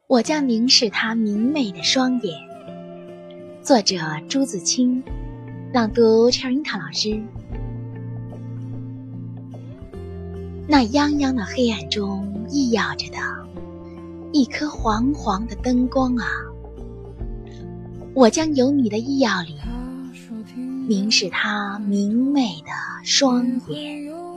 我将凝视她明媚的双眼。作者朱自清，朗读 Cherinta 老师。那泱泱的黑暗中熠耀着的一颗黄黄的灯光啊，我将由你的衣药里凝视她明媚的双眼。